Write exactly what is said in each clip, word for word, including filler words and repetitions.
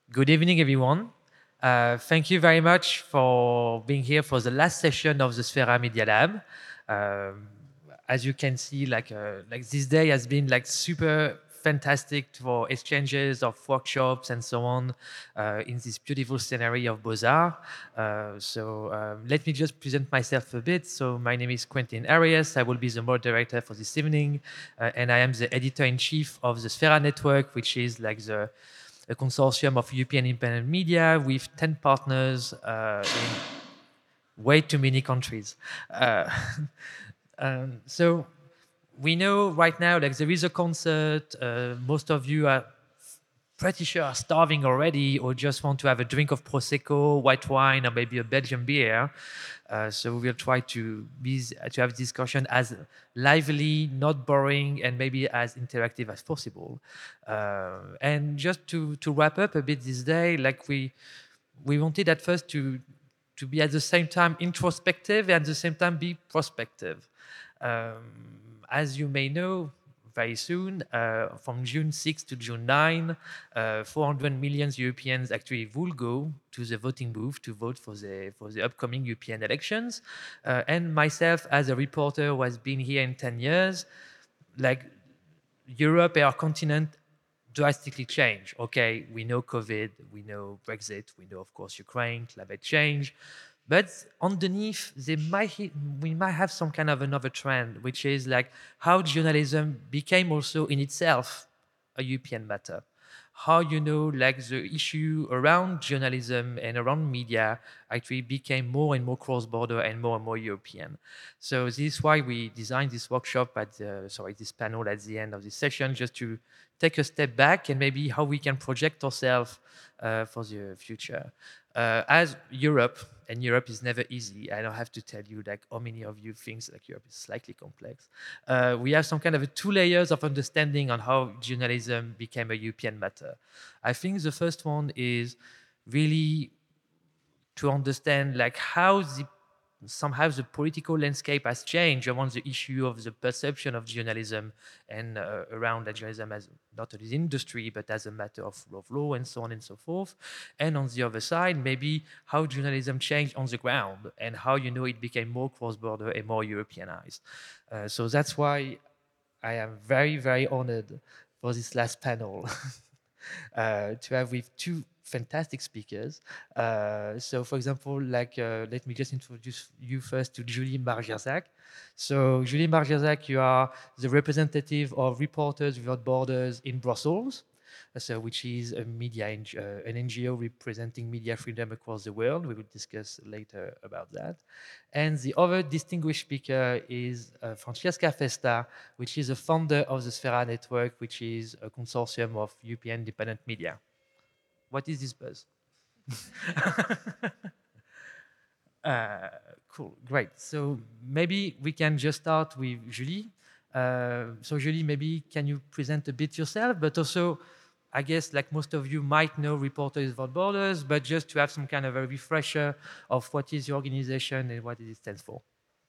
Good evening, everyone. Uh, thank you very much for being here for the last session of the Sfera Media Lab. Um, as you can see, like uh, like this day has been like super fantastic for exchanges of workshops and so on uh, in this beautiful scenery of Beaux-Arts. Uh, so um, let me just present myself a bit. So my name is Quentin Arias. I will be the moderator for this evening, uh, and I am the editor-in-chief of the Sfera Network, which is like the a consortium of European independent media with ten partners uh, in way too many countries. Uh, um, so we know right now like there is a concert. Uh, most of you are pretty sure are starving already or just want to have a drink of Prosecco, white wine, or maybe a Belgian beer. Uh, so we'll try to be to have discussion as lively, not boring, and maybe as interactive as possible. Uh, and just to to wrap up a bit this day, like we we wanted at first to to be at the same time introspective and at the same time be prospective. Um, as you may know, very soon, uh, from June sixth to June ninth, uh, four hundred million Europeans actually will go to the voting booth to vote for the for the upcoming European elections. Uh, and myself, as a reporter who has been here in ten years, like Europe, our continent, drastically change. Okay, we know COVID, we know Brexit, we know, of course, Ukraine, climate change. But underneath, they might, we might have some kind of another trend, which is like how journalism became also in itself a European matter. How, you know, like the issue around journalism and around media actually became more and more cross-border and more and more European. So this is why we designed this workshop at the, sorry, this panel at the end of this session, just to take a step back and maybe how we can project ourselves uh, for the future. Uh, as Europe, and Europe is never easy. I don't have to tell you like how many of you think like Europe is slightly complex. Uh, we have some kind of a two layers of understanding on how journalism became a European matter. I think the first one is really to understand like how the somehow the political landscape has changed around the issue of the perception of journalism and uh, around that journalism as not as industry but as a matter of rule of law and so on and so forth. And on the other side, maybe how journalism changed on the ground and how, you know, it became more cross-border and more Europeanized. Uh, so that's why I am very, very honored for this last panel uh, to have with two fantastic speakers. Uh, so, for example, like, uh, let me just introduce you first to Julie Margerzak. So, Julie Margerzak, you are the representative of Reporters Without Borders in Brussels, uh, so which is a media, uh, an N G O representing media freedom across the world. We will discuss later about that. And the other distinguished speaker is uh, Francesca Festa, which is a founder of the Sfera Network, which is a consortium of European independent media. What is this buzz? uh, cool, great. So maybe we can just start with Julie. Uh, so Julie, maybe can you present a bit yourself, but also, I guess, like most of you might know Reporters Without Borders, but just to have some kind of a refresher of what is your organization and what it stands for.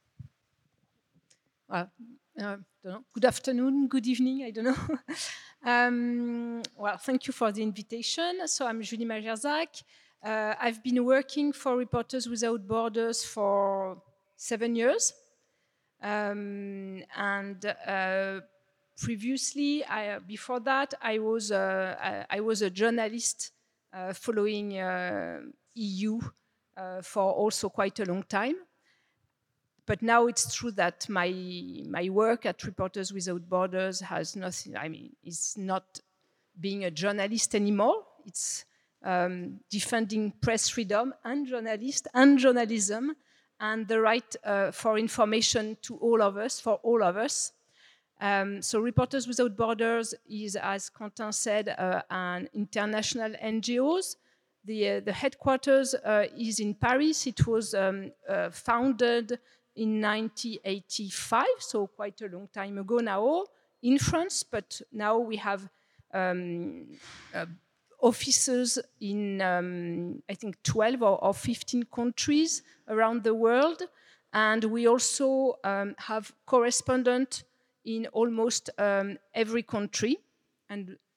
Well, uh, don't know. Good afternoon, good evening, I don't know. um, well, thank you for the invitation. So I'm Julie Margerzak. Uh, I've been working for Reporters Without Borders for seven years. Um, and uh, previously, I, before that, I was, uh, I, I was a journalist uh, following uh, E U uh, for also quite a long time. But now it's true that my my work at Reporters Without Borders has nothing. I mean, it's not being a journalist anymore. It's um, defending press freedom and journalists and journalism and the right uh, for information to all of us, for all of us. Um, so Reporters Without Borders is, as Quentin said, uh, an international N G O. The, uh, the headquarters uh, is in Paris. It was um, uh, founded in nineteen eighty-five, so quite a long time ago now, in France, but now we have um, uh, offices in, um, I think, twelve or, or fifteen countries around the world. And we also um, have correspondents in almost um, every country. And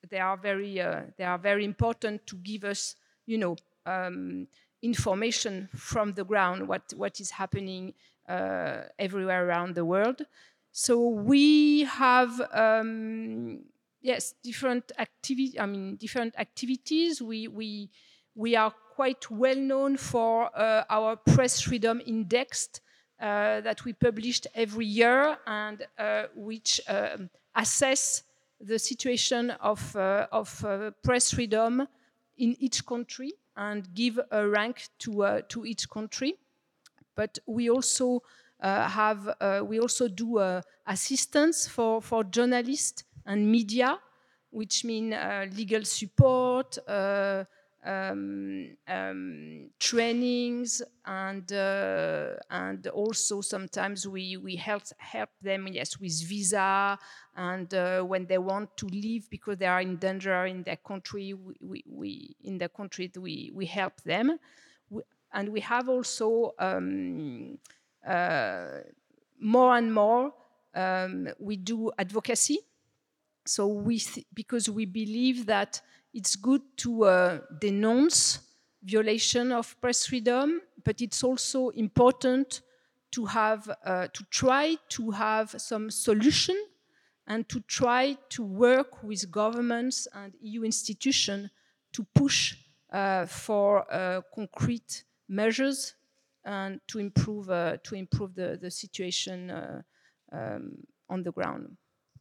they are very uh, they are very important to give us, you know, um, information from the ground, what what is happening uh, everywhere around the world. So we have um, yes different activity. I mean different activities. We we we are quite well known for uh, our press freedom index uh, that we published every year, and uh, which um, assess the situation of, uh, of uh, press freedom in each country and give a rank to, uh, to each country. But we also uh, have, uh, we also do uh, assistance for, for journalists and media, which mean uh, legal support, uh, um, um, trainings, and uh, and also sometimes we we help help them, yes, with visa, and uh, when they want to leave because they are in danger in their country, we, we, we in their country we we help them. We, and we have also um, uh, more and more um, we do advocacy. So we, th- because we believe that it's good to uh, denounce violation of press freedom, but it's also important to have, uh, to try to have some solution and to try to work with governments and E U institutions to push uh, for uh, concrete measures and to improve, uh, to improve the, the situation uh, um, on the ground.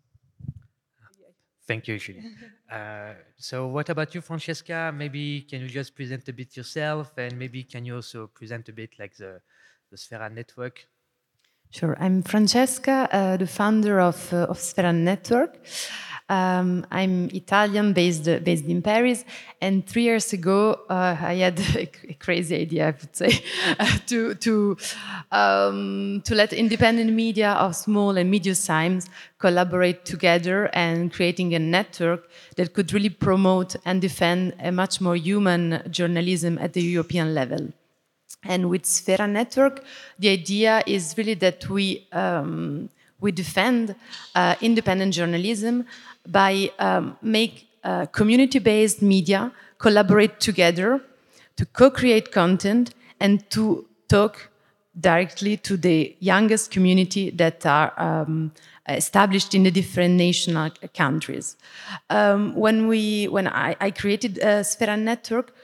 Thank you, Julie. Uh, so what about you, Francesca? Maybe can you just present a bit yourself, and maybe can you also present a bit like the, the Sfera network? Sure. I'm Francesca, uh, the founder of, uh, of Sfera Network. Um, I'm Italian, based, uh, based in Paris, and three years ago uh, I had a, a crazy idea, I would say, uh, to, to, um, to let independent media of small and medium size collaborate together and creating a network that could really promote and defend a much more human journalism at the European level. And with Sfera Network, the idea is really that we, um, we defend uh, independent journalism by um, make uh, community-based media collaborate together to co-create content and to talk directly to the youngest community that are um, established in the different national countries. Um, when we, when I, I created uh, Sfera Network,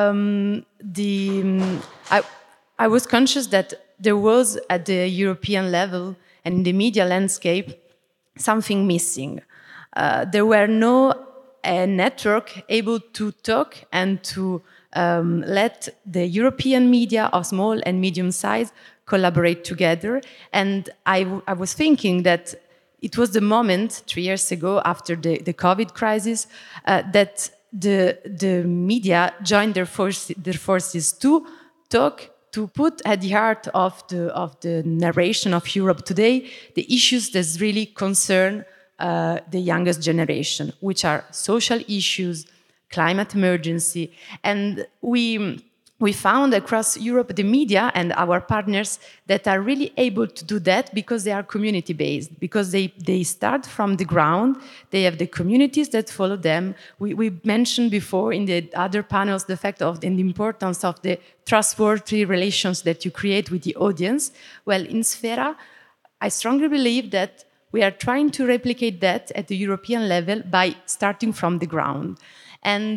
um, the um, I, I was conscious that there was at the European level and in the media landscape something missing. Uh, there were no uh, network able to talk and to um, let the European media of small and medium size collaborate together. And I, w I was thinking that it was the moment, three years ago, after the, the COVID crisis, uh, that the, the media joined their, force, their forces to talk, to put at the heart of the, of the narration of Europe today the issues that really concern uh, the youngest generation, which are social issues, climate emergency. And we, we found across Europe the media and our partners that are really able to do that because they are community-based, because they, they start from the ground, they have the communities that follow them. We, we mentioned before in the other panels the fact of the importance of the trustworthy relations that you create with the audience. Well, in Sfera, I strongly believe that we are trying to replicate that at the European level by starting from the ground. And,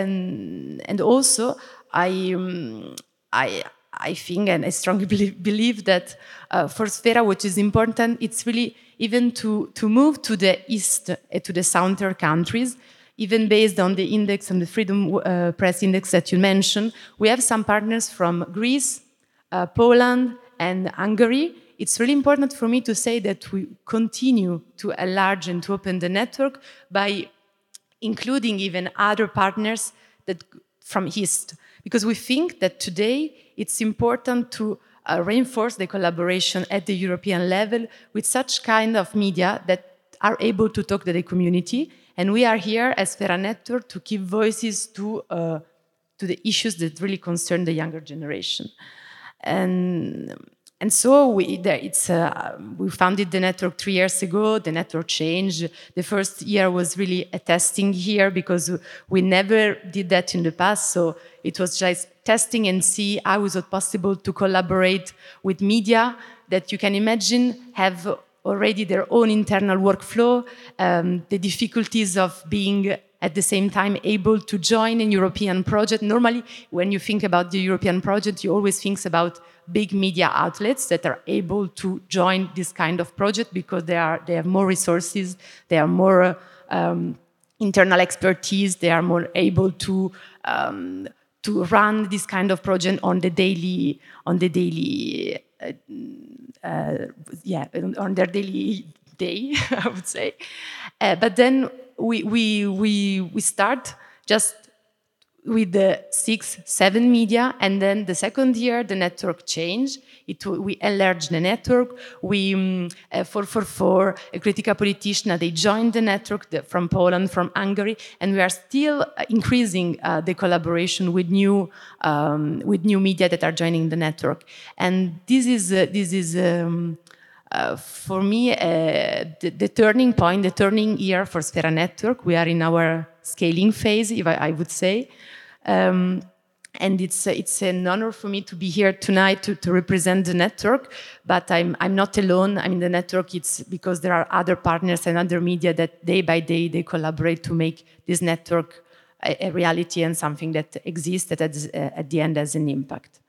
and, and also, I, um, I, I think and I strongly believe, believe that uh, for Sfera, what is important, it's really even to, to move to the east, uh, to the southern countries, even based on the index and the Freedom uh, Press Index that you mentioned. We have some partners from Greece, uh, Poland, and Hungary. It's really important for me to say that we continue to enlarge and to open the network by including even other partners that from East, because we think that today it's important to uh, reinforce the collaboration at the European level with such kind of media that are able to talk to the community. And we are here as Sfera Network to give voices to, uh, to the issues that really concern the younger generation. And and so we, there, it's, uh, we founded the network three years ago. The network changed. The first year was really a testing year because we never did that in the past. So it was just testing and see how is it possible to collaborate with media that you can imagine have already their own internal workflow, um, the difficulties of being at the same time able to join a European project. Normally, when you think about the European project, you always think about big media outlets that are able to join this kind of project because they are they have more resources, they are more um, internal expertise, they are more able to um, to run this kind of project on the daily on the daily uh, uh, yeah on their daily day, I would say. Uh, but then we we we we start just with the six, seven media, and then the second year the network changed. It, we enlarged the network. We, um, uh, four four four, a critical politician, they joined the network the, from Poland, from Hungary, and we are still increasing uh, the collaboration with new, um, with new media that are joining the network. And this is, uh, this is um, uh, for me, uh, the, the turning point, the turning year for Sfera Network. We are in our scaling phase, if I, I would say. Um, and it's uh, it's an honor for me to be here tonight to, to represent the network. But I'm I'm not alone. I mean, the network. It's because there are other partners and other media that day by day they collaborate to make this network a, a reality and something that exists that at, uh, at the end has an impact.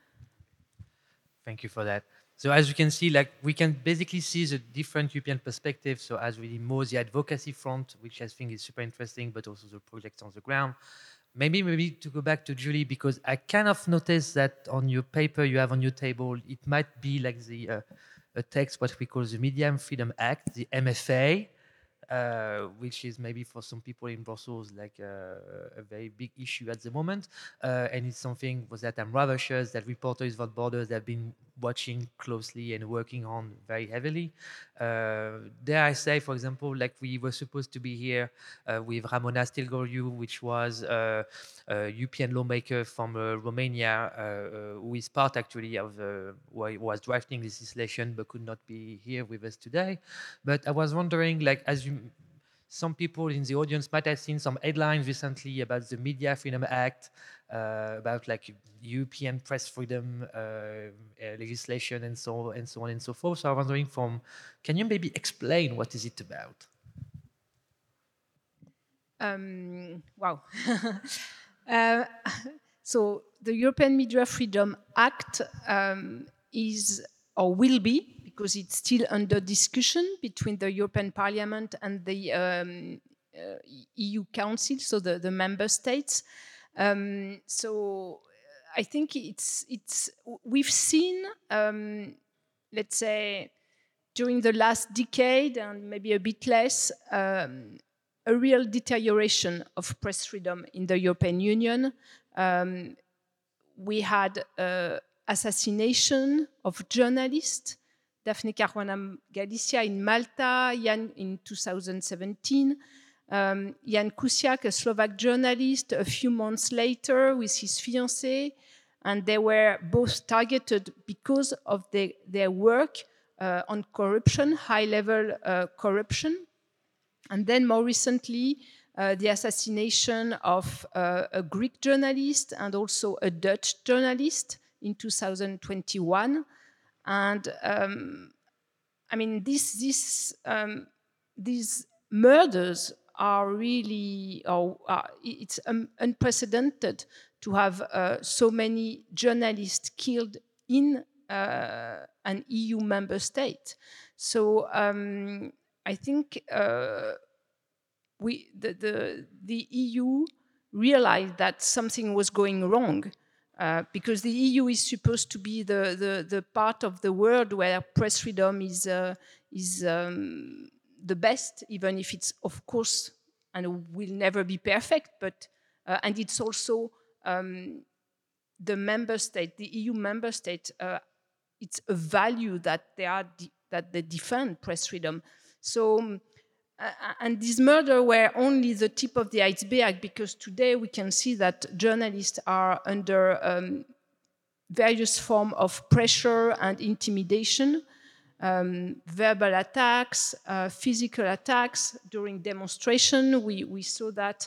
Thank you for that. So as you can see, like we can basically see the different European perspectives. So as really more the advocacy front, which I think is super interesting, but also the projects on the ground. Maybe, maybe to go back to Julie, because I kind of noticed that on your paper you have on your table, it might be like the uh, a text, what we call the Media and Freedom Act, the M F A, uh, which is maybe for some people in Brussels like uh, a very big issue at the moment. Uh, and it's something was that I'm rather sure that Reporters Without Borders have been watching closely and working on very heavily. Uh, dare I say, for example, like we were supposed to be here uh, with Ramona Stilgoriu, which was uh, a European lawmaker from uh, Romania, uh, uh, who is part actually of uh, who was drafting this legislation but could not be here with us today. But I was wondering, like, as you some people in the audience might have seen some headlines recently about the Media Freedom Act, uh, about like European press freedom uh, uh, legislation and so and so on and so forth. So I was wondering, from can you maybe explain what is it about? Um, wow. uh, so the European Media Freedom Act um, is or will be, because it's still under discussion between the European Parliament and the um, uh, E U Council, so the, the member states. Um, so I think it's it's we've seen, um, let's say, during the last decade and maybe a bit less, um, a real deterioration of press freedom in the European Union. Um, we had uh, assassination of journalists, Daphne Caruana Galizia in Malta, Jan in two thousand seventeen, um, Jan Kuciak, a Slovak journalist, a few months later with his fiancée, and they were both targeted because of the, their work uh, on corruption, high-level uh, corruption. And then more recently, uh, the assassination of uh, a Greek journalist and also a Dutch journalist in two thousand twenty-one. And um, I mean, this, this, um, these murders are really, oh, uh, it's um, unprecedented to have uh, so many journalists killed in uh, an E U member state. So um, I think uh, we, the, the, the E U realized that something was going wrong. Uh, because the E U is supposed to be the, the, the part of the world where press freedom is, uh, is um, the best, even if it's, of course, and will never be perfect, but, uh, and it's also um, the member state, the E U member state, uh, it's a value that they, are that they defend press freedom. So, um, Uh, and these murders were only the tip of the iceberg, because today we can see that journalists are under um, various forms of pressure and intimidation, um, verbal attacks, uh, physical attacks during demonstration. We, we saw that,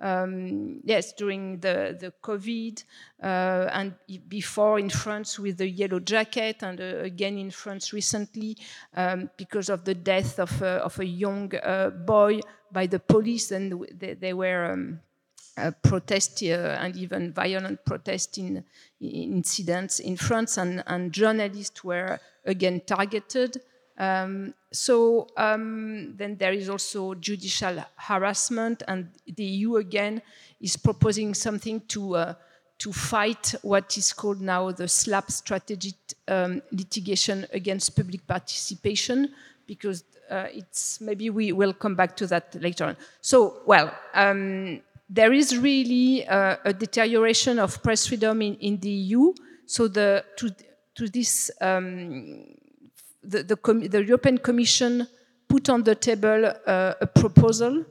um, yes, during the, the COVID uh, and before in France with the yellow jacket, and uh, again in France recently um, because of the death of a, of a young uh, boy by the police, and they, they were um, uh, protest uh, and even violent protest in, in incidents in France, and, and journalists were again targeted. Um, so um, then there is also judicial harassment, and the E U again is proposing something to uh, to fight what is called now the SLAPP strategic um, litigation against public participation, because uh, it's maybe we will come back to that later on. So well. Um, There is really uh, a deterioration of press freedom in, in the E U. So the, to, to this, um, the, the, com the European Commission put on the table uh, a proposal,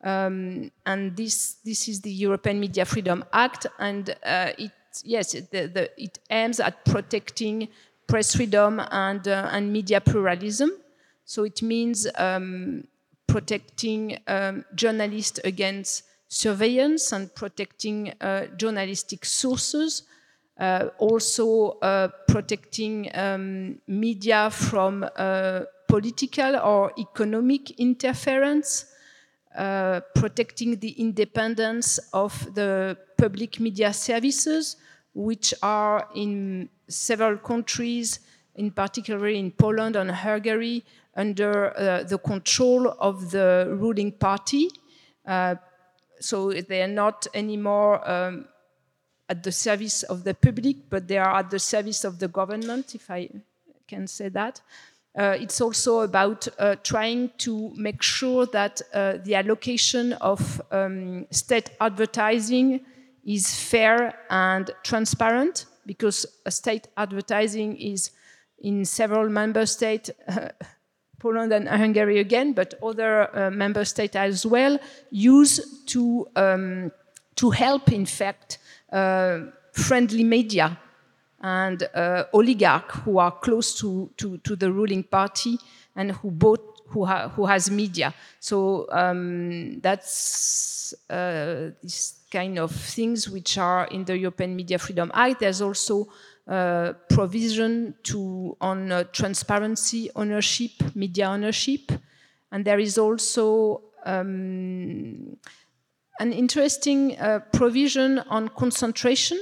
um, and this, this is the European Media Freedom Act, and uh, it, yes, it, the, the, it aims at protecting press freedom and, uh, and media pluralism. So it means um, protecting um, journalists against surveillance and protecting uh, journalistic sources, uh, also uh, protecting um, media from uh, political or economic interference, uh, protecting the independence of the public media services, which are in several countries, in particular in Poland and Hungary, under uh, the control of the ruling party. Uh, So they are not anymore um, at the service of the public, but they are at the service of the government, if I can say that. Uh, it's also about uh, trying to make sure that uh, the allocation of um, state advertising is fair and transparent, because state advertising is in several member states, uh, Poland and Hungary again, but other uh, member states as well, use to, um, to help, in fact, uh, friendly media and uh, oligarchs who are close to, to, to the ruling party and who, both, who, ha who has media. So um, that's uh, this kind of things which are in the European Media Freedom Act. There's also Uh, provision to on uh, transparency ownership, media ownership, and there is also um, an interesting uh, provision on concentration.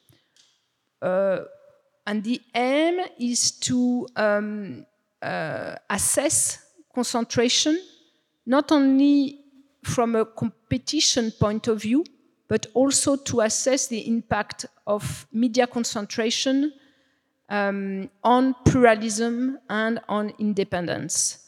Uh, and the aim is to um, uh, assess concentration, not only from a competition point of view, but also to assess the impact of media concentration um, on pluralism and on independence.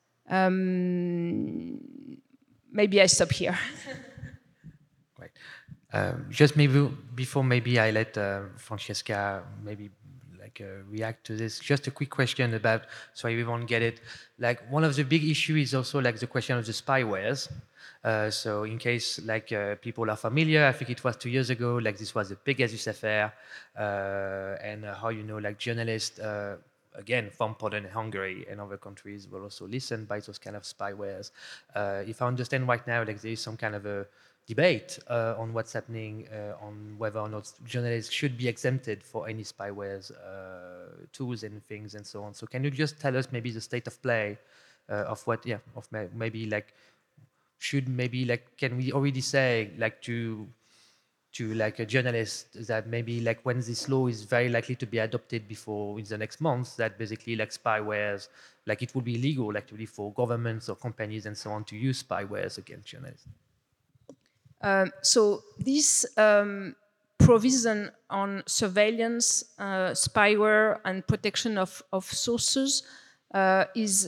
Um, maybe I stop here. Right. Um, just maybe before maybe I let uh, Francesca maybe like uh, react to this. Just a quick question about, so everyone get it. Like one of the big issues is also like the question of the spywares. Uh, so in case like uh, people are familiar, I think it was two years ago, like this was the Pegasus affair, uh, and uh, how, you know, like journalists, uh, again, from Poland and Hungary and other countries were also listened by those kind of spywares. Uh, if I understand right now, like there is some kind of a debate uh, on what's happening, uh, on whether or not journalists should be exempted for any spywares uh, tools and things and so on. So can you just tell us maybe the state of play uh, of what, yeah, of maybe like, should maybe like, can we already say like to to like a journalist that maybe like when this law is very likely to be adopted before in the next months, that basically like spywares, like it would be illegal actually for governments or companies and so on to use spywares against journalists? Um, so this um, provision on surveillance, uh, spyware, and protection of, of sources uh, is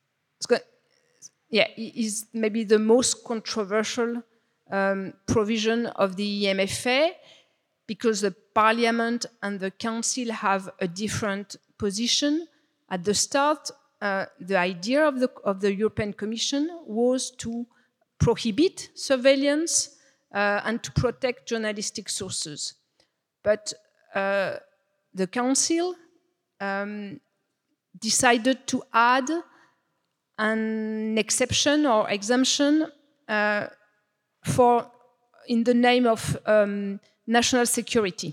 yeah, is maybe the most controversial um, provision of the E M F A, because the Parliament and the Council have a different position. At the start, uh, the idea of the, of the European Commission was to prohibit surveillance uh, and to protect journalistic sources. But uh, the council um, decided to add an exception or exemption uh, for in the name of um, national security.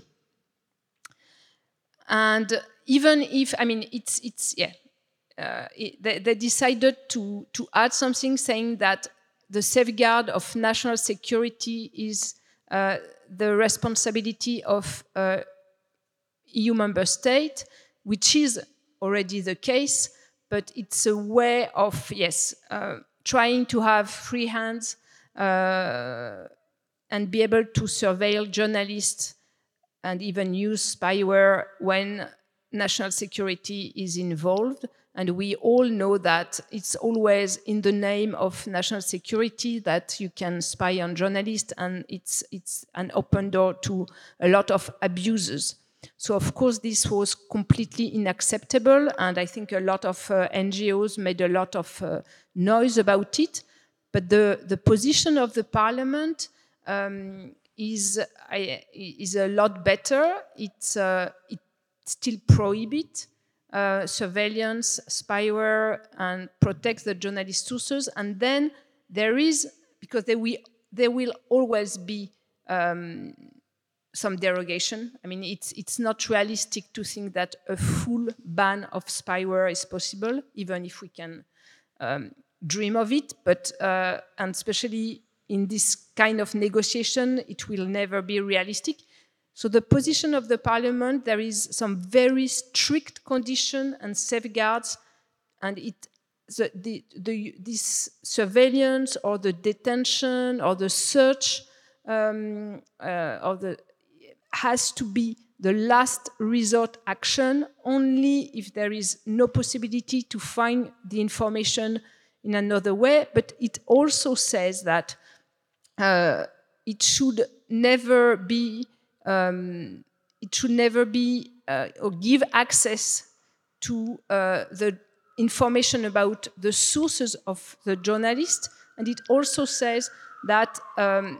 And even if, I mean, it's, it's yeah, uh, it, they, they decided to, to add something saying that the safeguard of national security is uh, the responsibility of uh, E U member state, which is already the case, but it's a way of, yes, uh, trying to have free hands uh, and be able to surveil journalists and even use spyware when national security is involved. And we all know that it's always in the name of national security that you can spy on journalists, and it's, it's an open door to a lot of abuses. So of course this was completely unacceptable, and I think a lot of uh, N G Os made a lot of uh, noise about it. But the, the position of the parliament um, is, uh, is a lot better. It's, uh, it still prohibits uh, surveillance, spyware, and protects the journalist sources. And then there is, because there will, there will always be um, some derogation. I mean, it's, it's not realistic to think that a full ban of spyware is possible, even if we can um, dream of it. But, uh, and especially in this kind of negotiation, it will never be realistic. So the position of the parliament, there is some very strict condition and safeguards, and it, the, the, the, this surveillance or the detention or the search um, uh, of the has to be the last resort action only if there is no possibility to find the information in another way. But it also says that uh, it should never be um, it should never be uh, or give access to uh, the information about the sources of the journalist. And it also says that um,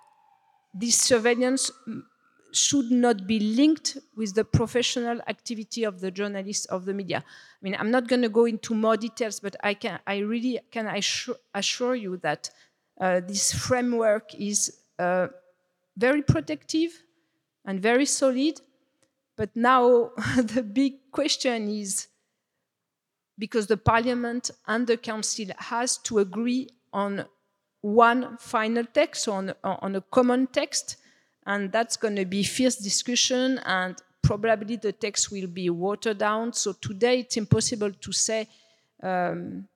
this surveillance should not be linked with the professional activity of the journalists of the media. I mean, I'm not going to go into more details, but I can, I really can assure, assure you that uh, this framework is uh, very protective and very solid. But now the big question is, because the Parliament and the Council has to agree on one final text, on, on a common text, and that's going to be fierce discussion, and probably the text will be watered down. So today it's impossible to say um,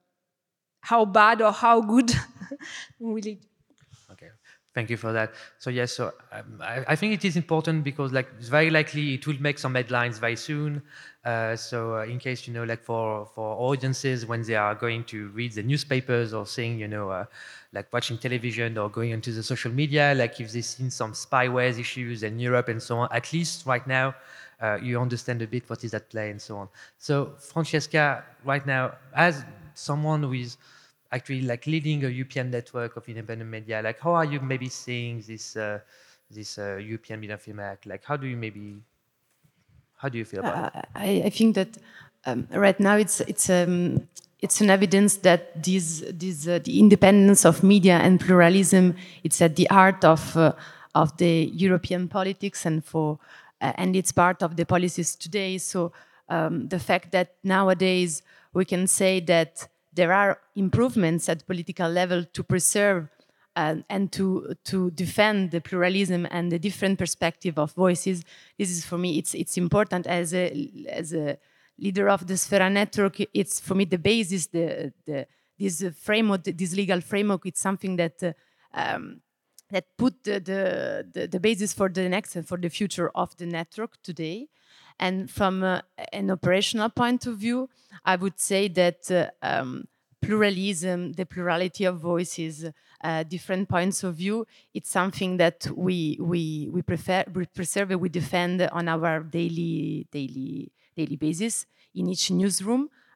how bad or how good will it. Okay, thank you for that. So yes, so um, I, I think it is important because like it's very likely it will make some headlines very soon. Uh, so uh, in case, you know, like for, for audiences when they are going to read the newspapers or seeing, you know, uh, like watching television or going into the social media, like if they've seen some spyware issues in Europe and so on, at least right now, uh, you understand a bit what is at play and so on. So Francesca, right now, as someone who is actually like leading a European network of independent media, like how are you maybe seeing this, uh, this uh, European Media Film Act? Like how do you maybe, how do you feel about uh, it? I, I think that um, right now it's, it's um, it's an evidence that this, this, uh, the independence of media and pluralism, it's at the heart of, uh, of the European politics, and, for, uh, and it's part of the policies today. So um, the fact that nowadays we can say that there are improvements at political level to preserve uh, and to, to defend the pluralism and the different perspective of voices, this is for me, it's, it's important as a, as a leader of the Sfera network. It's for me the basis, the, the, this framework, this legal framework, it's something that uh, um, that put the, the, the, the basis for the next and for the future of the network today. And from uh, an operational point of view, I would say that uh, um, pluralism, the plurality of voices, uh, different points of view, it's something that we, we, we, prefer, we preserve, we defend on our daily, daily daily basis in each newsroom.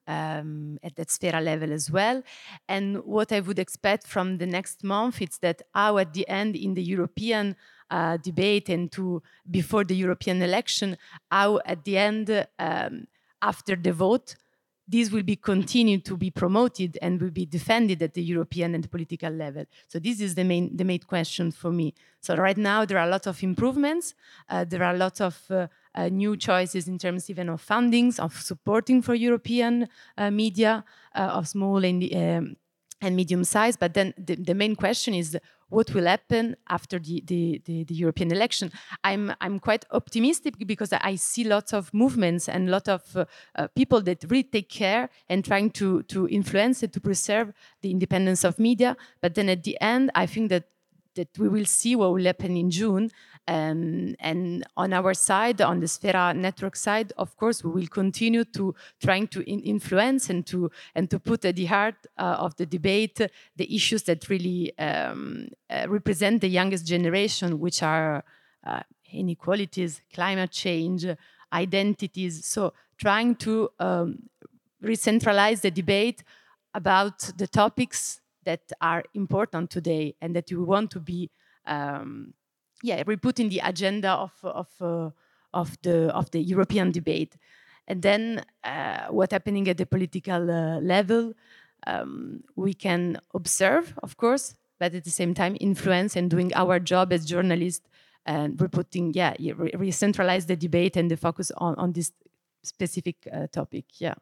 um, at that Sfera level as well. And what I would expect from the next month is that how at the end in the European uh, debate and to before the European election, how at the end um, after the vote, this will be continued to be promoted and will be defended at the European and political level. So this is the main the main question for me. So right now there are a lot of improvements. Uh, there are a lot of uh, uh, new choices in terms even of fundings, of supporting for European uh, media uh, of small and um, and medium size. But then the, the main question is what will happen after the, the, the, the European election. I'm, I'm quite optimistic because I see lots of movements and a lot of uh, uh, people that really take care and trying to, to influence it, to preserve the independence of media. But then at the end, I think that that we will see what will happen in June. Um, and on our side, on the Sfera network side, of course, we will continue to trying to in influence and to and to put at the heart uh, of the debate the issues that really um, uh, represent the youngest generation, which are uh, inequalities, climate change, identities. So trying to um, re-centralize the debate about the topics that are important today and that you want to be, um, yeah, we put in the agenda of of uh, of the of the European debate, and then uh, what's happening at the political uh, level, um, we can observe, of course, but at the same time influence and doing our job as journalists and we're putting, yeah, re, re centralize the debate and the focus on on this specific uh, topic, yeah.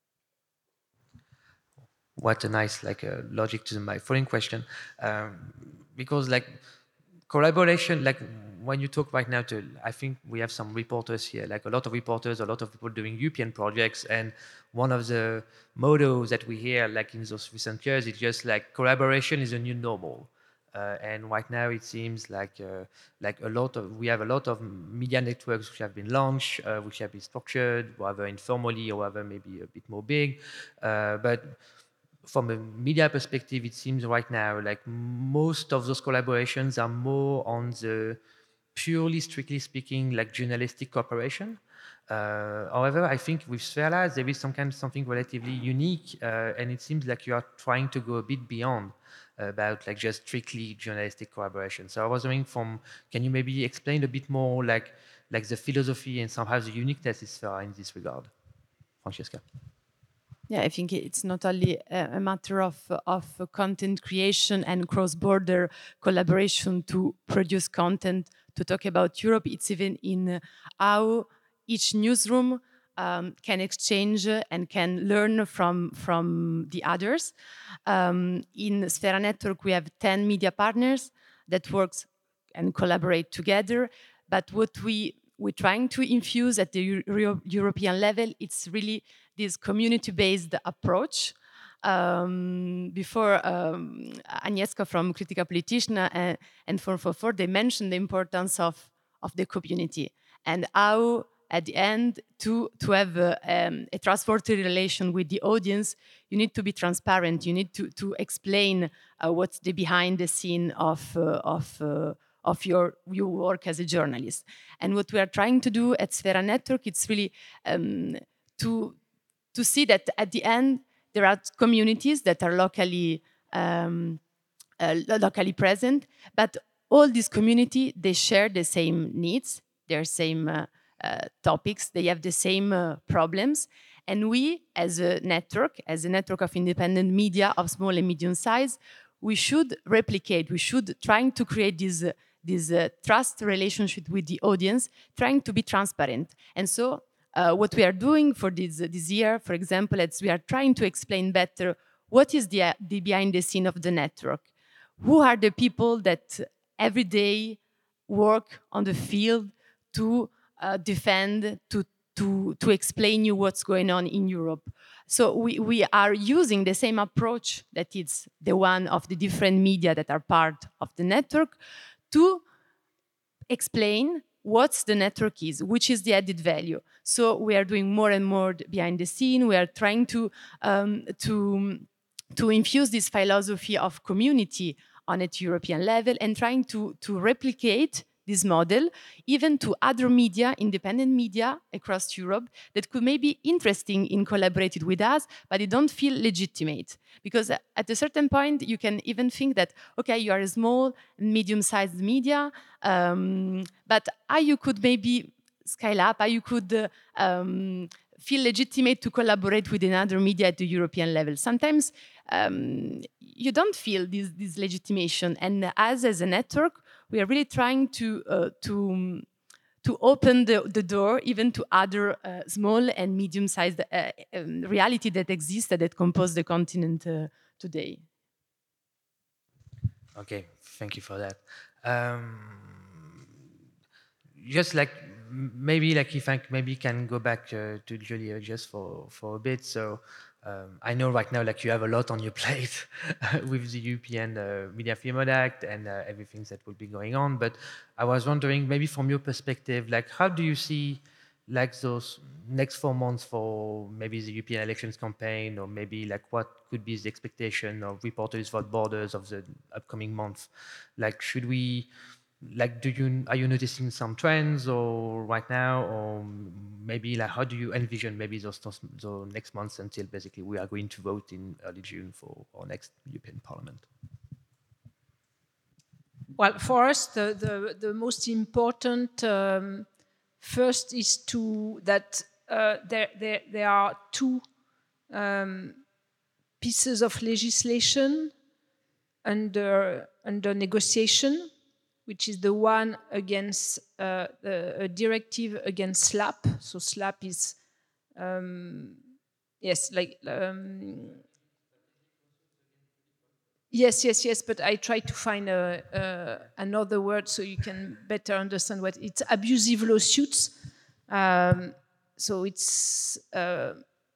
What a nice like uh, logic to my following question, um, because like collaboration, like when you talk right now to, I think we have some reporters here, like a lot of reporters, a lot of people doing European projects, and one of the mottos that we hear like in those recent years is just like collaboration is a new normal. Uh, and right now it seems like uh, like a lot of we have a lot of media networks which have been launched, uh, which have been structured, whether informally or whether maybe a bit more big, uh, but from a media perspective, it seems right now like most of those collaborations are more on the purely, strictly speaking, like journalistic cooperation. Uh, however, I think with Sfera, there is some kind of something relatively unique, uh, and it seems like you are trying to go a bit beyond uh, about like just strictly journalistic collaboration. So I was wondering, from can you maybe explain a bit more like like the philosophy and somehow the uniqueness of Sfera in this regard, Francesca? Yeah, I think it's not only a, a matter of, of content creation and cross-border collaboration to produce content to talk about Europe. It's even in how each newsroom um, can exchange and can learn from, from the others. Um, in Sfera Network, we have ten media partners that works and collaborate together. But what we we're trying to infuse at the Euro European level, it's really this community-based approach. Um, before um, Agnieszka from Critical Politician uh, and four four four, they mentioned the importance of, of the community and how at the end to, to have uh, um, a trustworthy relation with the audience, you need to be transparent, you need to, to explain uh, what's the behind the scene of, uh, of uh, of your, your work as a journalist. And what we are trying to do at Sfera Network, it's really um, to, to see that at the end, there are communities that are locally, um, uh, locally present, but all these community, they share the same needs, their same uh, uh, topics, they have the same uh, problems. And we, as a network, as a network of independent media of small and medium size, we should replicate, we should trying to create this uh, this uh, trust relationship with the audience, trying to be transparent. And so uh, what we are doing for this, uh, this year, for example, is we are trying to explain better what is the, uh, the behind the scene of the network. Who are the people that every day work on the field to uh, defend, to, to, to explain you what's going on in Europe. So we, we are using the same approach that is the one of the different media that are part of the network to explain what the network is, which is the added value. So we are doing more and more behind the scene. We are trying to, um, to, to infuse this philosophy of community on a European level and trying to, to replicate this model, even to other media, independent media across Europe that could maybe interesting in collaborating with us, but they don't feel legitimate. Because at a certain point, you can even think that, okay, you are a small, medium-sized media, um, but how you could maybe scale up, how you could uh, um, feel legitimate to collaborate with another media at the European level. Sometimes um, you don't feel this, this legitimation. And us as a network, we are really trying to, uh, to, to open the, the door even to other uh, small and medium-sized uh, um, reality that exists that compose the continent uh, today. Okay, thank you for that. Um, just like maybe like if I maybe can go back uh, to Julia just for for a bit. So um, I know right now like you have a lot on your plate with the European uh, Media Freedom Act and uh, everything that will be going on. But I was wondering maybe from your perspective, like how do you see like those next four months for maybe the European elections campaign, or maybe like what could be the expectation of Reporters Without Borders of the upcoming month? Like should we like do you are you noticing some trends or right now, or maybe like how do you envision maybe those those, those next months until basically we are going to vote in early June for our next European Parliament? Well, for us, the the, the most important um, first is to that uh, there, there there are two um, pieces of legislation under under negotiation, which is the one against uh, the, a directive against SLAPP. So SLAPP is um, yes, like um, yes, yes, yes. But I try to find a, a, another word so you can better understand what it's abusive lawsuits. Um, so it's uh,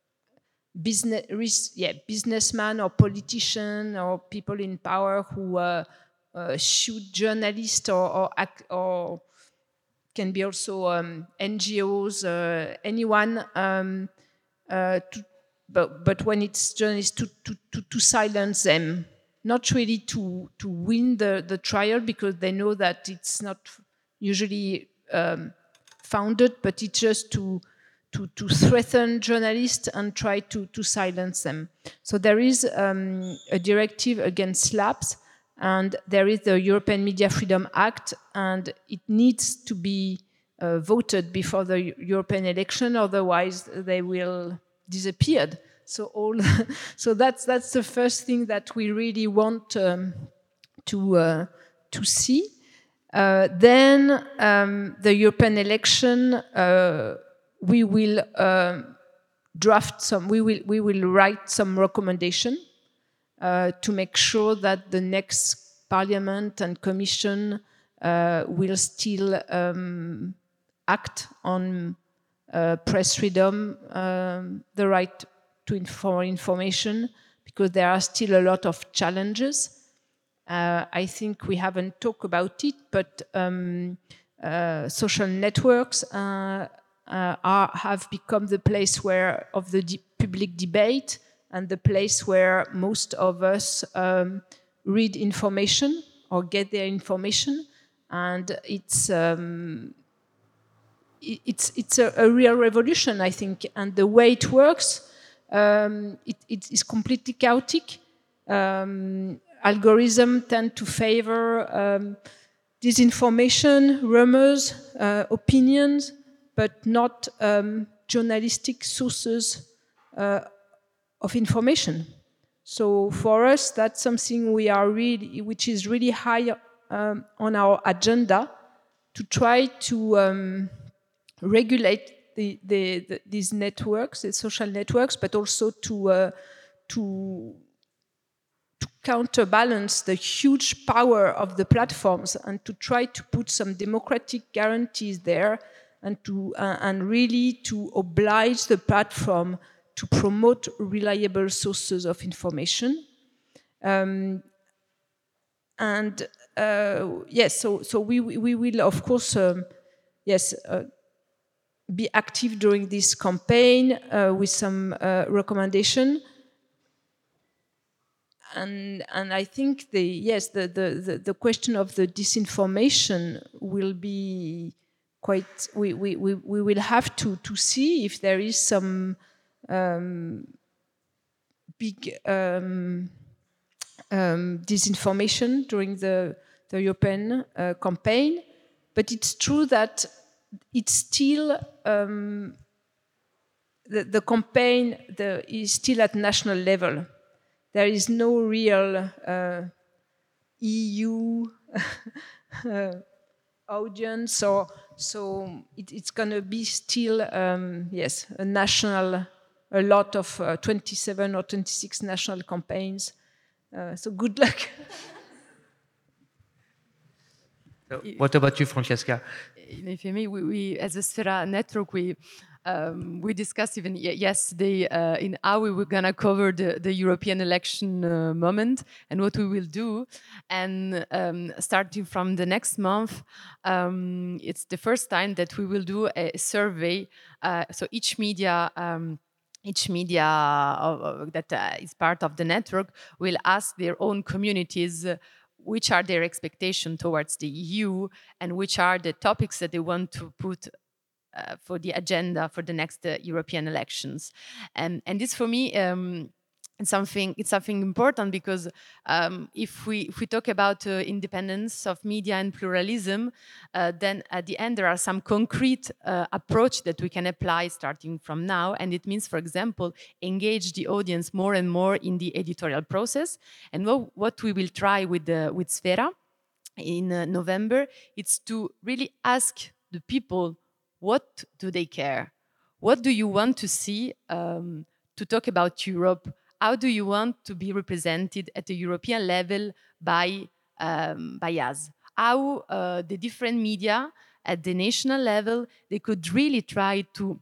business, yeah, businessman or politician or people in power who uh, uh, shoot journalists or or, act, or can be also um, N G Os, uh, anyone. Um, uh, to, but but when it's journalists, to, to, to, to silence them, not really to to win the, the trial because they know that it's not usually um, founded, but it's just to To, to threaten journalists and try to, to silence them. So there is um, a directive against SLAPPs, and there is the European Media Freedom Act, and it needs to be uh, voted before the European election, otherwise they will disappear. So all, so that's that's the first thing that we really want um, to uh, to see. Uh, then um, the European election. Uh, we will uh, draft some, we will, we will write some recommendation uh, to make sure that the next Parliament and Commission uh, will still um, act on uh, press freedom, um, the right to inform information, because there are still a lot of challenges. Uh, I think we haven't talked about it, but um, uh, social networks uh, Uh, are, have become the place where of the de- public debate and the place where most of us um, read information or get their information, and it's um, it, it's it's a, a real revolution, I think. And the way it works, um, it, it is completely chaotic. Um, algorithms tend to favor um, disinformation, rumors, uh, opinions, but not um, journalistic sources uh, of information. So for us, that's something we are really, which is really high um, on our agenda, to try to um, regulate the, the, the, these networks, the social networks, but also to uh, to to counterbalance the huge power of the platforms and to try to put some democratic guarantees there, and to uh, and really to oblige the platform to promote reliable sources of information. Um, and uh, yes, so so we we will of course um, yes uh, be active during this campaign uh, with some uh, recommendation. and and I think the yes the, the the the question of the disinformation will be quite. We we we, we will have to to see if there is some um, big um, um, disinformation during the the European uh, campaign, but it's true that it's still. Um, The, the campaign the, is still at national level. There is no real uh, E U uh, audience, or so it, it's going to be still um, yes a national, a lot of uh, twenty-seven or twenty-six national campaigns. Uh, so good luck. So what about you, Francesca? If you may, we, we as a Sfera network, we um, we discussed even yesterday uh, in how we were gonna cover the, the European election uh, moment and what we will do. And um, starting from the next month, um, it's the first time that we will do a survey. Uh, so each media. Um, Each media uh, that uh, is part of the network will ask their own communities uh, which are their expectations towards the E U and which are the topics that they want to put uh, for the agenda for the next uh, European elections. And, and this for me, um, it's something, it's something important because um, if, we, if we talk about uh, independence of media and pluralism, uh, then at the end there are some concrete uh, approach that we can apply starting from now. And it means, for example, engage the audience more and more in the editorial process. And what, what we will try with, the, with Sfera in uh, November, it's to really ask the people, what do they care? What do you want to see um, to talk about Europe? How do you want to be represented at the European level by, um, by us? How uh, the different media at the national level, they could really try to,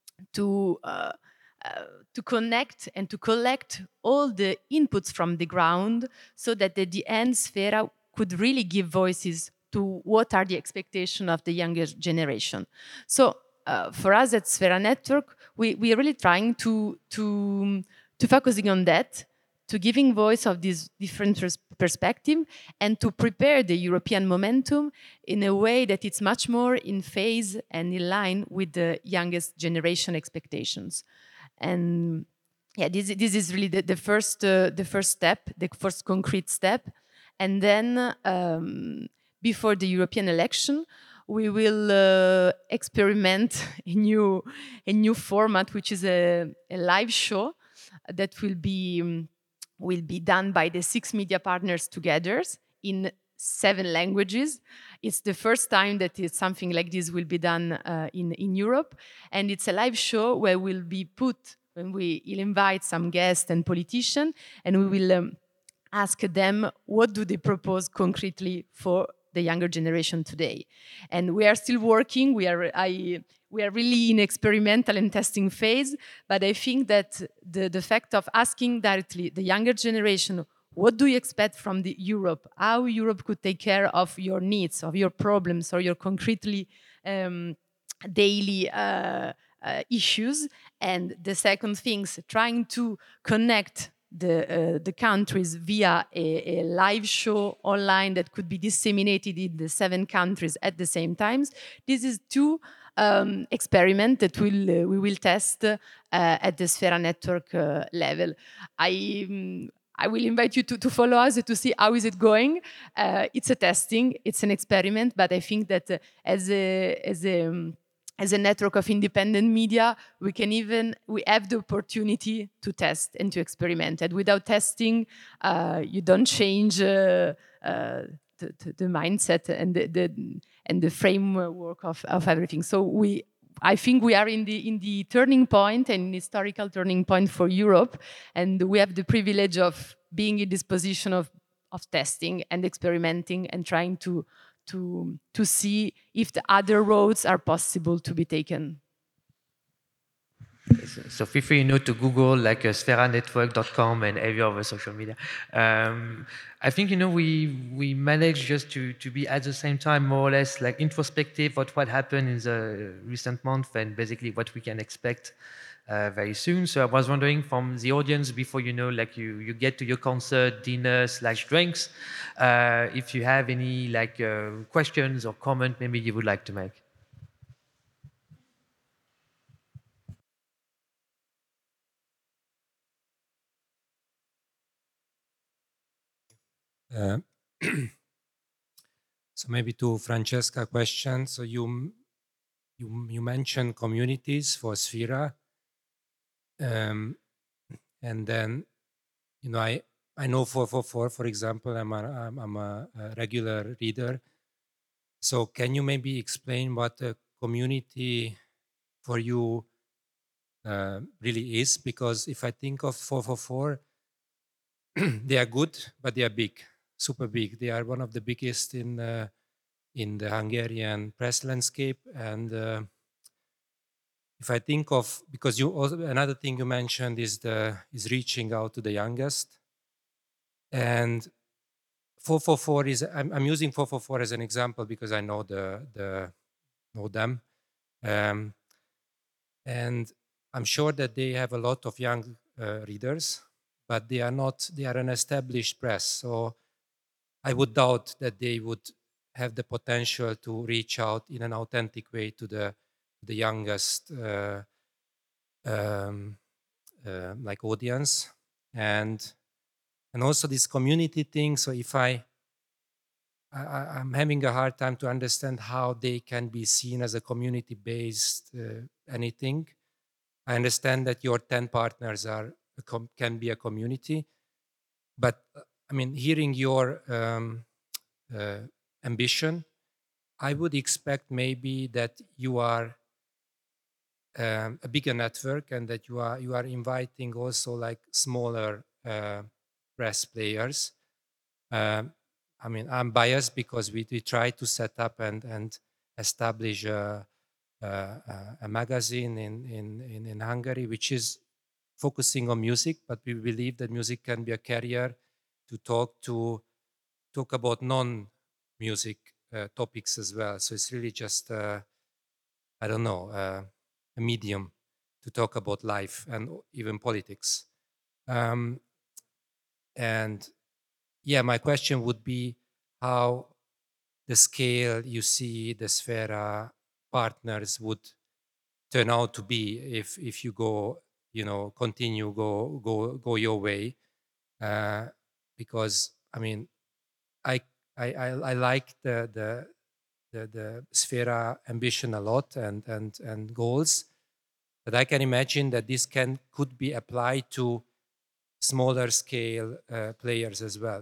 to, uh, uh, to connect and to collect all the inputs from the ground so that at the end, Sfera could really give voices to what are the expectations of the younger generation. So uh, for us at Sfera Network, we, we are really trying to, to, to focusing on that, to giving voice of this different pers perspective and to prepare the European momentum in a way that it's much more in phase and in line with the youngest generation expectations. And yeah, this, this is really the, the, first, uh, the first step, the first concrete step. And then um, before the European election, we will uh, experiment a new, a new format, which is a, a live show that will be, um, will be done by the six media partners together in seven languages. It's the first time that it's something like this will be done uh, in, in Europe. And it's a live show where we'll be put, when we will invite some guests and politicians, and we will um, ask them what do they propose concretely for the younger generation today. And we are still working. We are, I, we are really in experimental and testing phase. But I think that the, the fact of asking directly the younger generation, what do you expect from the Europe? How Europe could take care of your needs, of your problems, or your concretely um, daily uh, uh, issues. And the second thing, trying to connect the, uh, the countries via a, a live show online that could be disseminated in the seven countries at the same time. This is two um, experiments that we'll, uh, we will test uh, at the Sfera Network uh, level. I, um, I will invite you to, to follow us to see how is it going. Uh, it's a testing, it's an experiment, but I think that uh, as a, as a um, as a network of independent media, we can even, we have the opportunity to test and to experiment. And without testing, uh, you don't change uh, uh, the, the, the mindset and the, the, and the framework of, of everything. So we, I think we are in the, in the turning point, and historical turning point for Europe. And we have the privilege of being in this position of, of testing and experimenting and trying to To, to see if the other roads are possible to be taken. So feel free, you know, to Google like uh, sfera network dot com and every other social media. Um, I think, you know, we we managed just to to be at the same time more or less like introspective of what happened in the recent month and basically what we can expect uh, very soon. So I was wondering from the audience, before you know, like you, you get to your concert, dinner slash drinks, uh, if you have any like uh, questions or comment maybe you would like to make. Uh, so maybe to Francesca question. So you you you mentioned communities for Sfera, um, and then you know I I know four four four for example. I'm a I'm, I'm a, a regular reader. So can you maybe explain what a community for you uh, really is? Because if I think of four four four, they are good, but they are big, super big. They are one of the biggest in uh, in the Hungarian press landscape. And uh, if I think of, because you also, another thing you mentioned is the is reaching out to the youngest. And four four four is, I'm, I'm using four four four as an example because I know the the know them. Um, and I'm sure that they have a lot of young uh, readers, but they are not, they are an established press. So I would doubt that they would have the potential to reach out in an authentic way to the the youngest uh, um, uh, like audience, and and also this community thing. So if I, I I'm having a hard time to understand how they can be seen as a community-based uh, anything. I understand that your ten partners are a com- can be a community, but uh, I mean, hearing your um, uh, ambition, I would expect maybe that you are um, a bigger network and that you are you are inviting also like smaller uh, press players. Um, I mean, I'm biased because we, we try to set up and and establish a, a, a magazine in, in in in Hungary, which is focusing on music, but we believe that music can be a carrier to talk to talk about non-music uh, topics as well. So it's really just uh, I don't know uh, a medium to talk about life and even politics. Um, and yeah, my question would be how the scale you see the Sfera partners would turn out to be if if you go, you know, continue go go go your way. Uh, because I mean, I I I, I like the the the the Sfera ambition a lot and and and goals, but I can imagine that this can could be applied to smaller scale uh, players as well.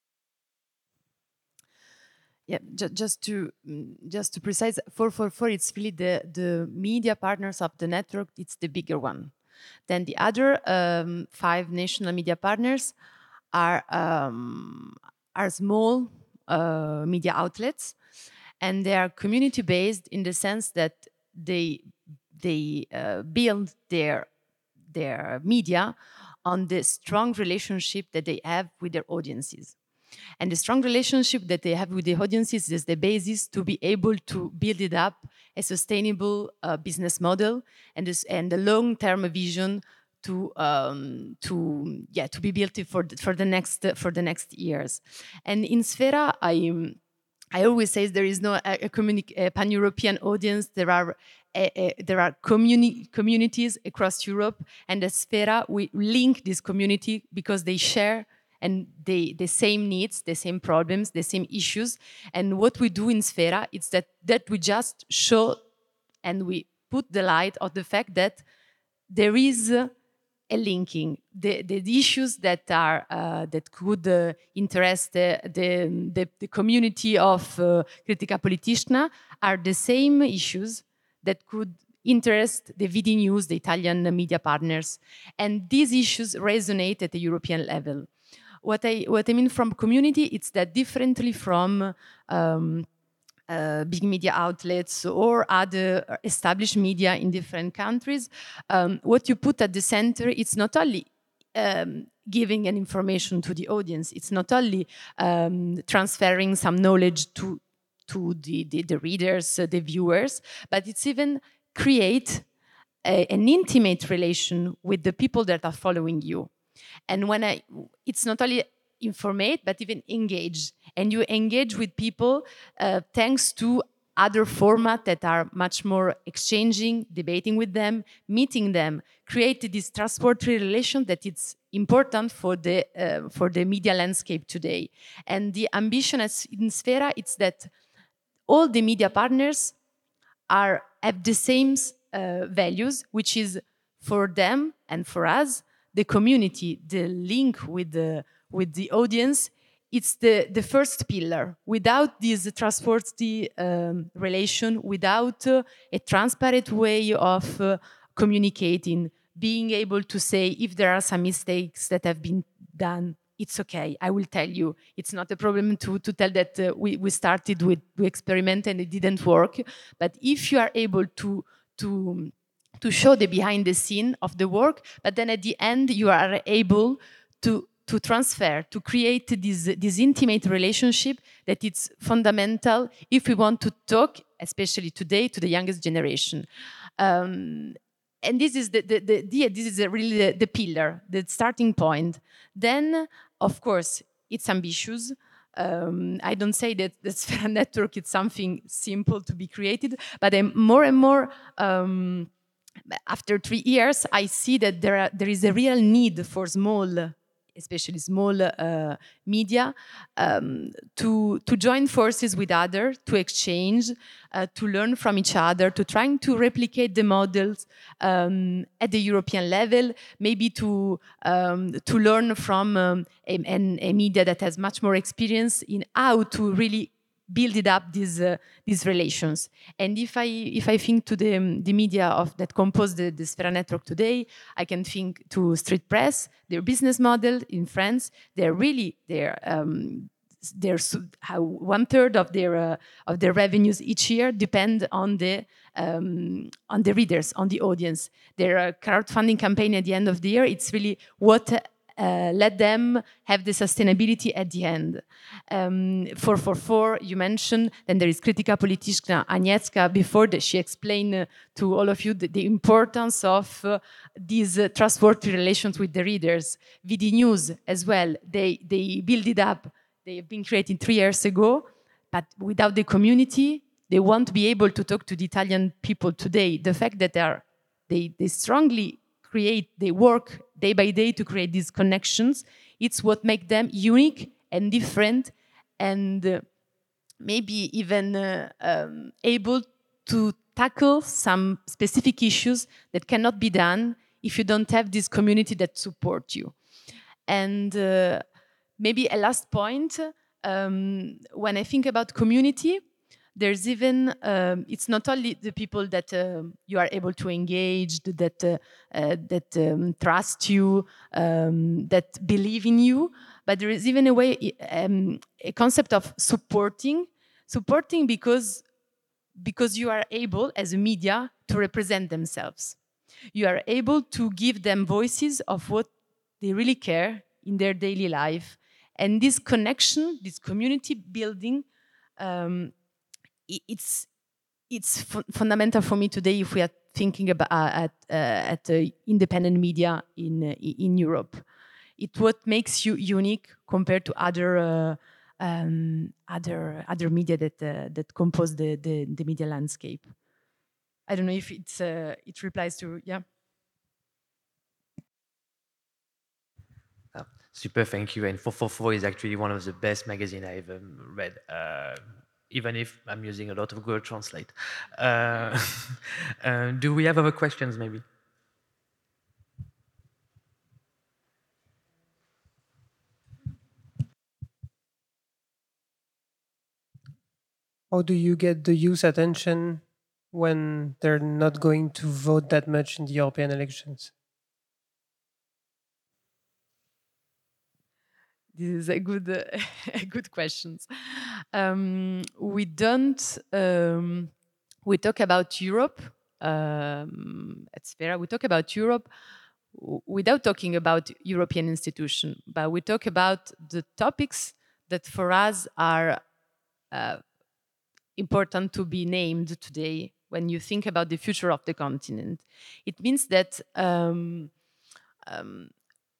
Yeah, ju- just to mm, just to precise, four four four, it's really the the media partners of the network. It's the bigger one. Then the other um, five national media partners are um, are small uh, media outlets, and they are community based in the sense that they they uh, build their their media on the strong relationship that they have with their audiences. And the strong relationship that they have with the audiences is the basis to be able to build it up a sustainable uh, business model and this, and a long-term vision to um, to yeah to be built for the, for the next for the next years. And in Sfera, I. Um, I always say there is no a, a, communi- a pan-European audience. There are a, a, there are communi- communities across Europe, and at Sfera we link this community because they share and they the same needs, the same problems, the same issues. And what we do in Sfera is that that we just show and we put the light on the fact that there is uh, a linking. The, the issues that are uh, that could uh, interest the, the, the, the community of uh, Critica Politicna are the same issues that could interest the V D News, the Italian media partners. And these issues resonate at the European level. What I, what I mean from community, it's that differently from um, uh, big media outlets or other established media in different countries, um, what you put at the center, it's not only um, giving an information to the audience, it's not only um, transferring some knowledge to, to the, the, the readers, uh, the viewers, but it's even create a, an intimate relation with the people that are following you. And when I, it's not only informate, but even engage. And you engage with people uh, thanks to other formats that are much more exchanging, debating with them, meeting them, create this trustworthy relation that it's important for the, uh, for the media landscape today. And the ambition in Sfera, it's that all the media partners are have the same uh, values, which is for them and for us, the community, the link with the, with the audience, it's the, the first pillar. Without this trustworthy um, relation, without uh, a transparent way of uh, communicating, being able to say if there are some mistakes that have been done, it's okay, I will tell you. It's not a problem to, to tell that uh, we, we started with, we experimented and it didn't work. But if you are able to, to, to show the behind the scene of the work, but then at the end you are able to to transfer, to create this, this intimate relationship that it's fundamental if we want to talk, especially today, to the youngest generation. Um, and this is the, the, the, the this is really the, the pillar, the starting point. Then, of course, it's ambitious. Um, I don't say that the Sfera network is something simple to be created, but I'm more and more, um, after three years, I see that there, are, there is a real need for small, especially small uh, media, um, to, to join forces with others, to exchange, uh, to learn from each other, to trying to replicate the models um, at the European level, maybe to, um, to learn from um, a, a media that has much more experience in how to really build it up these uh, these relations. And if I if I think to the um, the media of that compose the, the Sfera network today, I can think to Street Press, their business model in France. They're really they're um, they're how one third of their uh, of their revenues each year depend on the um, on the readers, on the audience. Their uh, crowdfunding campaign at the end of the year, it's really what. Uh, let them have the sustainability at the end. Um, four four four, you mentioned, then there is Krytyka Polityczna, Agnieszka, before that she explained uh, to all of you the, the importance of uh, these uh, trustworthy relations with the readers. V D News as well, they, they build it up. They have been created three years ago, but without the community, they won't be able to talk to the Italian people today. The fact that they, are, they, they strongly create, they work day by day to create these connections. It's what makes them unique and different, and uh, maybe even uh, um, able to tackle some specific issues that cannot be done if you don't have this community that support you. And uh, maybe a last point, um, when I think about community, there's even, um, it's not only the people that uh, you are able to engage, that, uh, uh, that um, trust you, um, that believe in you, but there is even a way, um, a concept of supporting, supporting because, because you are able, as a media, to represent themselves. You are able to give them voices of what they really care in their daily life. And this connection, this community building, um, it's it's fu fundamental for me today if we are thinking about uh, at uh, at uh, independent media in uh, in Europe. It's what makes you unique compared to other uh, um, other other media that uh, that compose the, the the media landscape. I don't know if it's uh, it replies to yeah. Oh, super, thank you. And four four four is actually one of the best magazines I've um, read. Uh, even if I'm using a lot of Google Translate. Uh, uh, do we have other questions, maybe? How do you get the youth attention when they're not going to vote that much in the European elections? This is a good, uh, a good question. Um, we don't. Um, we talk about Europe um, at Sfera. We talk about Europe without talking about European institution, but we talk about the topics that for us are uh, important to be named today when you think about the future of the continent. It means that um, um,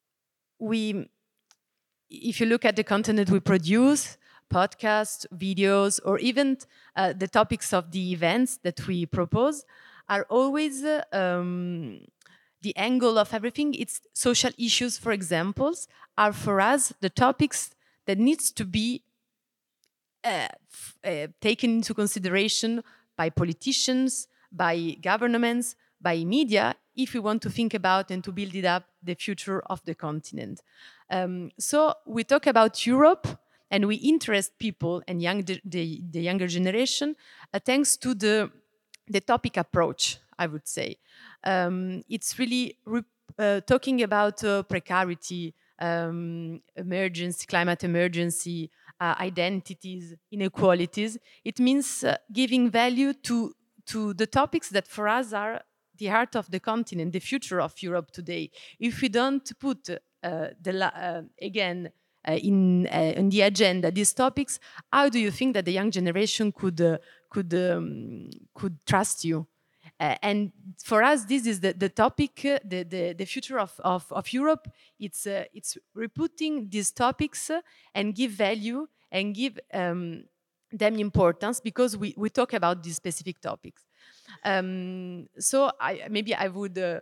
we, if you look at the content we produce, podcasts, videos, or even uh, the topics of the events that we propose, are always uh, um, the angle of everything. It's social issues, for examples, are for us the topics that needs to be uh, f- uh, taken into consideration by politicians, by governments, by media, if we want to think about and to build it up the future of the continent. Um, so we talk about Europe, and we interest people and young the, the, the younger generation uh, thanks to the the topic approach, I would say. Um, it's really re- uh, talking about uh, precarity, um, emergency, climate emergency, uh, identities, inequalities. It means uh, giving value to, to the topics that for us are the heart of the continent, the future of Europe today. If we don't put, uh, the la- uh, again, uh, in, uh, in the agenda these topics, how do you think that the young generation could, uh, could, um, could trust you? Uh, and for us, this is the, the topic, uh, the, the, the future of, of, of Europe. It's, uh, it's repeating these topics uh, and give value and give um, them importance, because we, we talk about these specific topics. Um, so I, maybe I would, uh,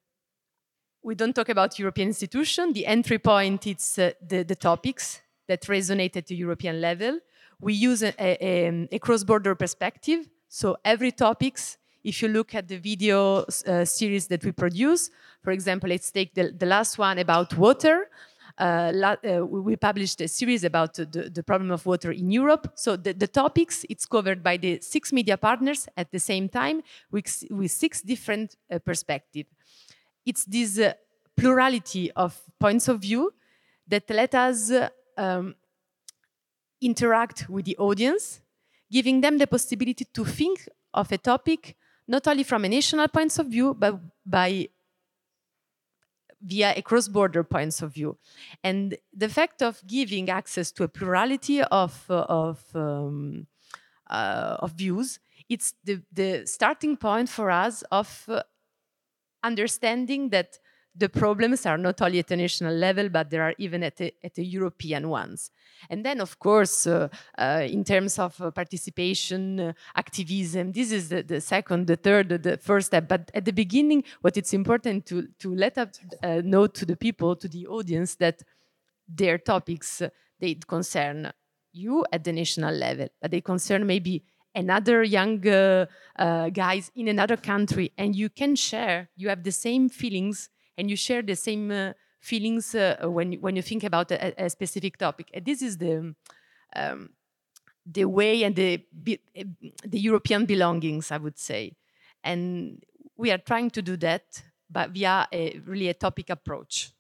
we don't talk about European institution. The entry point, it's uh, the, the topics that resonate at the European level. We use a, a, a cross-border perspective. So every topics, if you look at the video uh, series that we produce, for example, let's take the, the last one about water. Uh, la, uh, we published a series about uh, the, the problem of water in Europe. So the, the topics, it's covered by the six media partners at the same time with, with six different uh, perspectives. It's this uh, plurality of points of view that let us uh, um, interact with the audience, giving them the possibility to think of a topic not only from a national point of view, but by via a cross-border points of view. And the fact of giving access to a plurality of, uh, of, um, uh, of views, it's the, the starting point for us of uh, understanding that the problems are not only at a national level, but there are even at a, at a European ones. And then, of course, uh, uh, in terms of uh, participation, uh, activism, this is the, the second, the third, the, the first step. But at the beginning, what it's important to, to let up, uh, know to the people, to the audience, that their topics, uh, they concern you at the national level, but they concern maybe another young uh, uh, guys in another country, and you can share, you have the same feelings, and you share the same uh, feelings uh, when, when you think about a, a specific topic. And this is the, um, the way and the, the European belongings, I would say. And we are trying to do that, but via a, really a topic approach.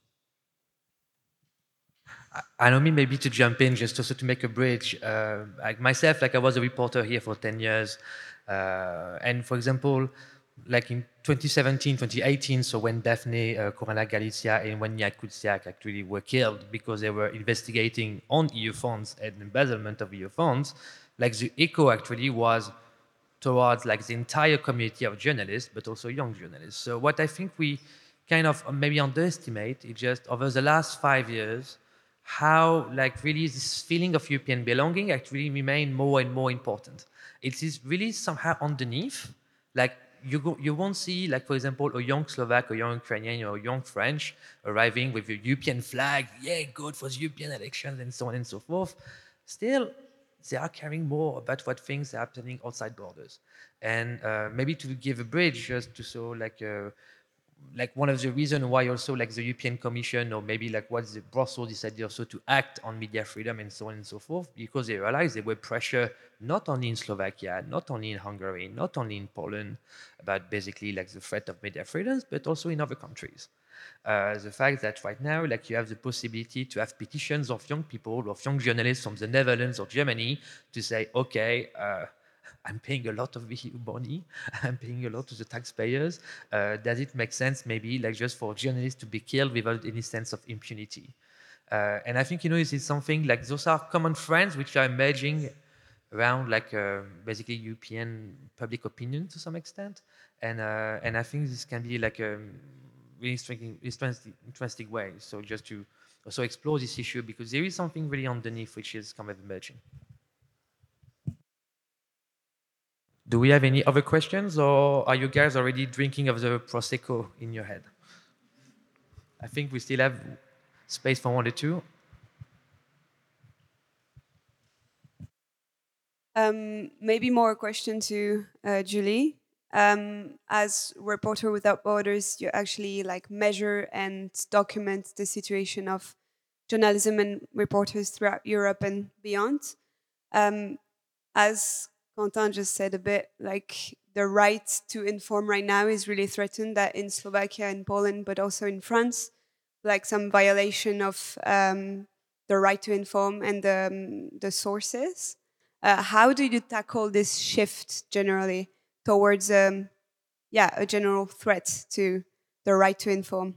I know me maybe to jump in just also to make a bridge. Uh, like myself, like I was a reporter here for ten years. Uh, and for example, like in twenty seventeen, twenty eighteen, so when Daphne uh, Caruana Galizia and when Jan Kuciak actually were killed because they were investigating on E U funds and embezzlement of E U funds, like the echo actually was towards like the entire community of journalists, but also young journalists. So what I think we kind of maybe underestimate is just over the last five years, how like really this feeling of European belonging actually remain more and more important. It is really somehow underneath, like you go, you won't see like for example a young Slovak, a young Ukrainian, or a young French arriving with a European flag, yeah, good for the European elections and so on and so forth. Still, they are caring more about what things are happening outside borders. And uh, maybe to give a bridge just to so like uh, like one of the reasons why also like the European Commission or maybe like what the Brussels decided also to act on media freedom and so on and so forth, because they realized there were pressure not only in Slovakia, not only in Hungary, not only in Poland about basically like the threat of media freedoms, but also in other countries. Uh, the fact that right now like you have the possibility to have petitions of young people, of young journalists from the Netherlands or Germany to say, okay, uh, I'm paying a lot of E U money, I'm paying a lot to the taxpayers. Uh, does it make sense maybe like just for journalists to be killed without any sense of impunity? Uh, and I think, you know, this is something like those are common friends which are emerging around like uh, basically European public opinion to some extent, and uh, and I think this can be like a really interesting, interesting, interesting way. So just to also explore this issue because there is something really underneath which is kind of emerging. Do we have any other questions, or are you guys already drinking of the Prosecco in your head? I think we still have space for one or two. Um, maybe more a question to uh, Julie. Um, as Reporter Without Borders, you actually like measure and document the situation of journalism and reporters throughout Europe and beyond. Um, as Quentin just said a bit, like the right to inform right now is really threatened, that in Slovakia and Poland, but also in France, like some violation of um, the right to inform and the, um, the sources. Uh, how do you tackle this shift generally towards, um, yeah, a general threat to the right to inform?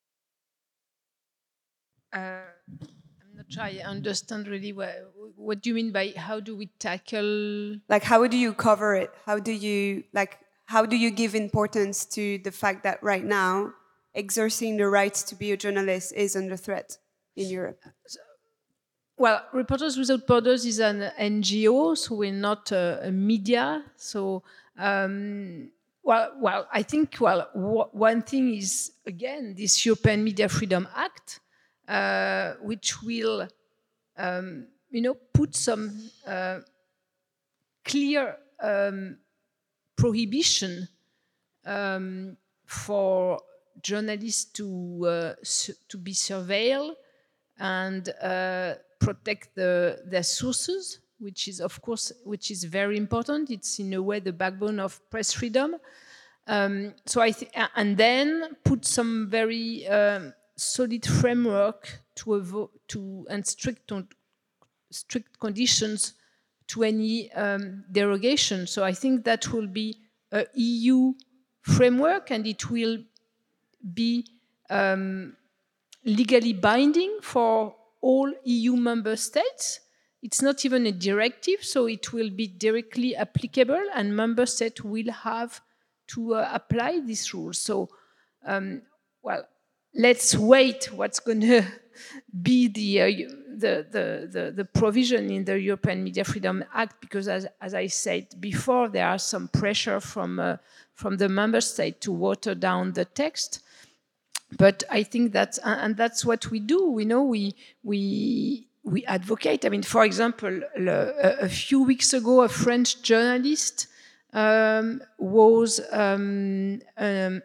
Uh, I'm not sure I understand really what, what do you mean by how do we tackle? Like, how do you cover it? How do you like? How do you give importance to the fact that right now, exercising the right to be a journalist is under threat in Europe? Well, Reporters Without Borders is an N G O, so we're not a, a media. So, um, well, well, I think well, w- one thing is again this European Media Freedom Act, uh, which will, um, you know, put some uh, clear um, prohibition um, for journalists to uh, su- to be surveilled and uh, protect the, their sources, which is of course which is very important. It's in a way the backbone of press freedom. Um, so I think, and then put some very um, solid framework to avoid to and strict on, strict conditions to any um, derogation. So I think that will be a E U framework, and it will be um, legally binding for all E U member states. It's not even a directive, so it will be directly applicable, and member states will have to uh, apply these rules. So, um, well, let's wait what's going to be the, uh, the, the, the, the provision in the European Media Freedom Act, because as, as I said before, there are some pressure from, uh, from the member state to water down the text. But I think that's, and that's what we do. We know we, we, we advocate. I mean, for example, a, a few weeks ago, a French journalist um, was um, um,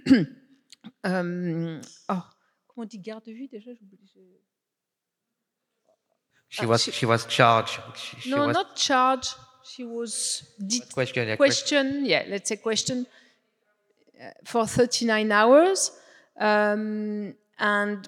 um, oh, comment on dit garde vue déjà? She was she was charged. She, she No, was not charged. She was det- question. Yeah, question. Yeah, let's say question uh, for thirty-nine hours, um, and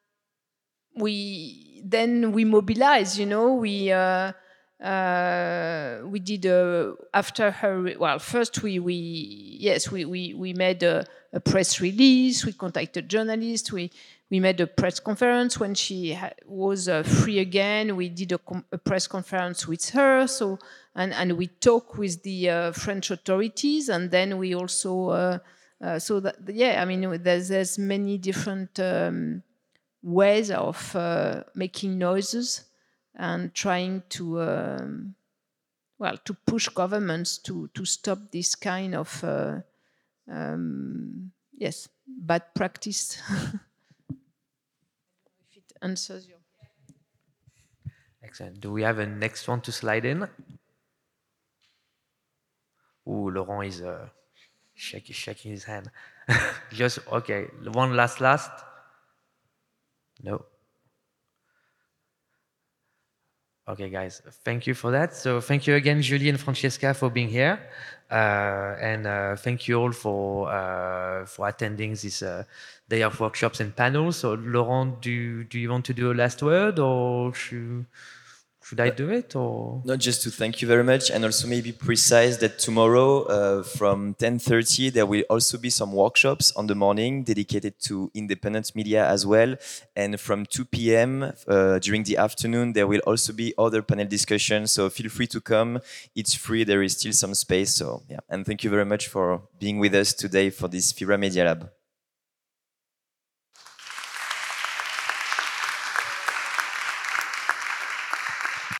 we then we mobilized. You know, we. Uh, uh, we did uh, after her. Well, first we we yes we we we made a, a press release. We contacted journalists. We we made a press conference when she ha- was uh, free again. We did a, com- a press conference with her. So and and we talked with the uh, French authorities, and then we also uh, uh, so that yeah. I mean, there's there's many different um, ways of uh, making noises and trying to, um, well, to push governments to, to stop this kind of, uh, um, yes, bad practice. If it answers your... Excellent. Do we have a next one to slide in? Ooh, Laurent is uh, shaking, shaking his hand. Just, okay, one last, last. No. Okay, guys, thank you for that. So thank you again, Julie and Francesca, for being here. Uh, and uh, thank you all for uh, for attending this uh, day of workshops and panels. So Laurent, do, do you want to do a last word, or should, should I do it or? No, just to thank you very much, and also maybe precise that tomorrow uh, from ten thirty there will also be some workshops on the morning dedicated to independent media as well, and from two p m uh, during the afternoon there will also be other panel discussions. So feel free to come. It's free. There is still some space. So yeah, and thank you very much for being with us today for this FIRA Media Lab.